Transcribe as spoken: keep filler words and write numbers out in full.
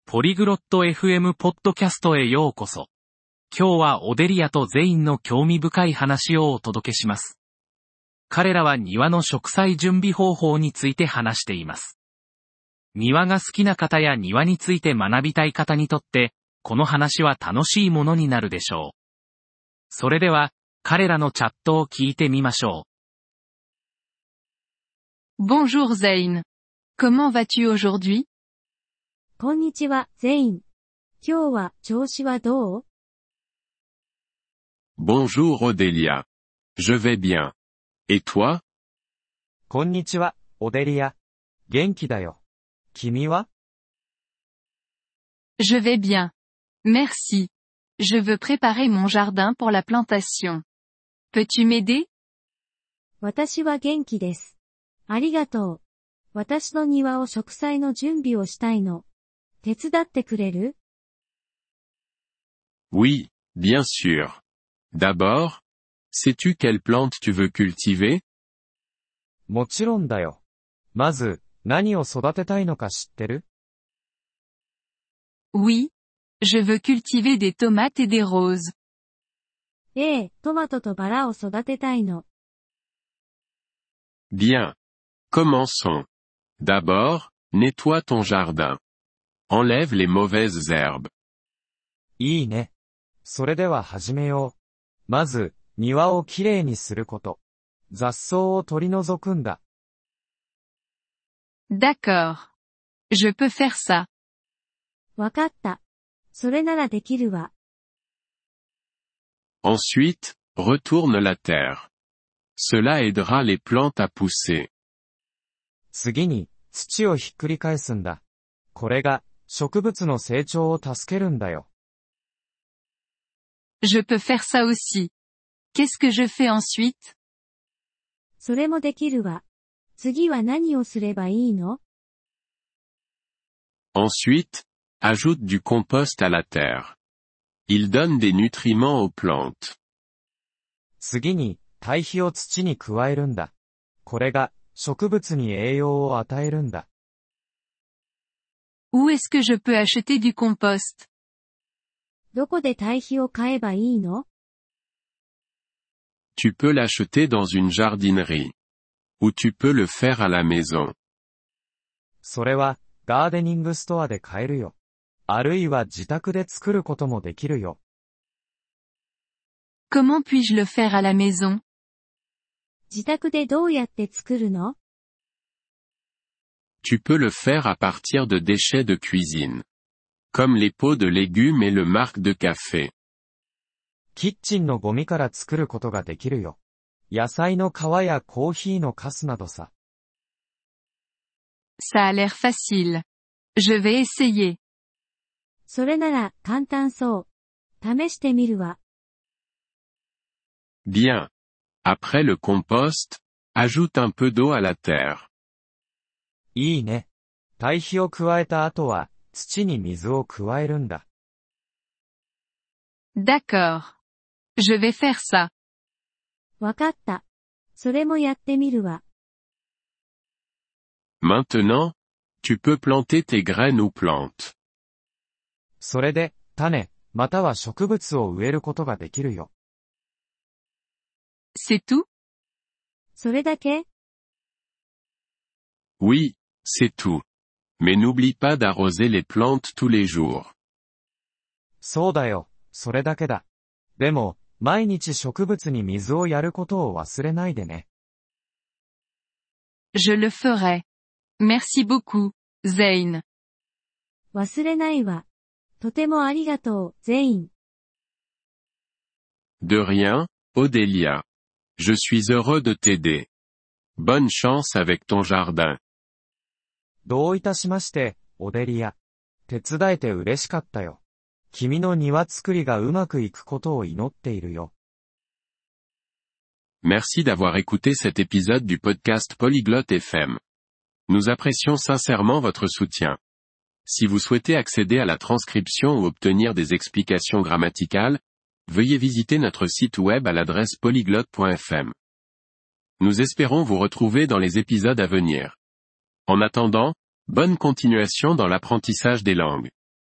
ポリグロット エフエム ポッドキャストへようこそ。今日はオデリアとゼインの興味深い話をお届けします。彼らは庭の植栽準備方法について話しています。庭が好きな方や庭について学びたい方にとって、この話は楽しいものになるでしょう。それでは、彼らのチャットを聞いてみましょう。Bonjour Zayn. Comment vas-tu aujourd'hui? こんにちは、ゼイン。今日は調子はどう？ Bonjour Odélia. Je vais bien. Et toi? こんにちは、オデリア。元気だよ。君は？ Je vais bien. Merci. Je veux préparer mon jardin pour la plantation. Peux-tu m'aider? 私は元気です。ありがとう。私の庭を植栽の準備をしたいの。手伝ってくれる？ Oui, bien sûr. D'abord, sais-tu quelle plante tu veux cultiver? もちろんだよ。まず、何を育てたいのか知ってる？ Oui. Je veux cultiver des tomates et des roses. ええ、トマトとバラを育てたいの。 Bien. Commençons. D'abord, nettoie ton jardin. Enlève les mauvaises herbes. いいね。それでは始めよう。まず、庭をきれいにすること。雑草を取り除くんだ。 D'accord. Je peux faire ça. わかった。それならできるわ。 Ensuite, retourne la terre. Cela aidera les plantes à pousser. 次に、土をひっくり返すんだ。これが、植物の成長を助けるんだよ。 Je peux faire ça aussi. Qu'est-ce que je fais ensuite? それもできるわ。次は何をすればいいの？ Ensuite, ajoute du compost à la terre. Il donne des nutriments aux plantes. 次に、堆肥を土に加えるんだ。これが、植物に栄養を与えるんだ。 Où est-ce que je peux acheter du compost? どこで堆肥を買えばいいの？ Tu peux l'acheter dans une jardinerie. Ou tu peux le faire à la maison. それは、ガーデニングストアで買えるよ。あるいは自宅で作ることもできるよ。 Comment puis-je le faire à la maison? 自宅でどうやって作るの？ Tu peux le faire à partir de déchets de cuisine. Comme les pots de légumes et le marc de café. キッチンのゴミから作ることができるよ。野菜の皮やコーヒーのカスなどさ。 Ça a l'air facile. Je vais essayer. それなら簡単そう。試してみるわ。 Bien. Après le compost, ajoute un peu d'eau à la terre. いいね。堆肥を加えた後は、土に水を加えるんだ。 D'accord. Je vais faire ça. わかった。それもやってみるわ。 Maintenant, tu peux planter tes graines ou plantes. それで、種、または植物を植えることができるよ。 C'est tout? それだけ？ Oui, c'est tout. Mais n'oublie pas d'arroser les plantes tous les jours. そうだよ、それだけだ。でも、毎日植物に水をやることを忘れないでね。 Je le ferai. Merci beaucoup, Zayn. 忘れないわ。とてもありがとう、ゼイン。 De rien, Odélia. Je suis heureux de t'aider. Bonne chance avec ton jardin. どういたしまして、オデリア。手伝えて嬉しかったよ。君の庭作りがうまくいくことを祈っているよ。 Merci d'avoir écouté cet épisode du podcast Polyglotte F M. Nous apprécions sincèrement votre soutien. Si vous souhaitez accéder à la transcription ou obtenir des explications grammaticales, veuillez visiter notre site web à l'adresse polyglotte point f m. Nous espérons vous retrouver dans les épisodes à venir. En attendant, bonne continuation dans l'apprentissage des langues.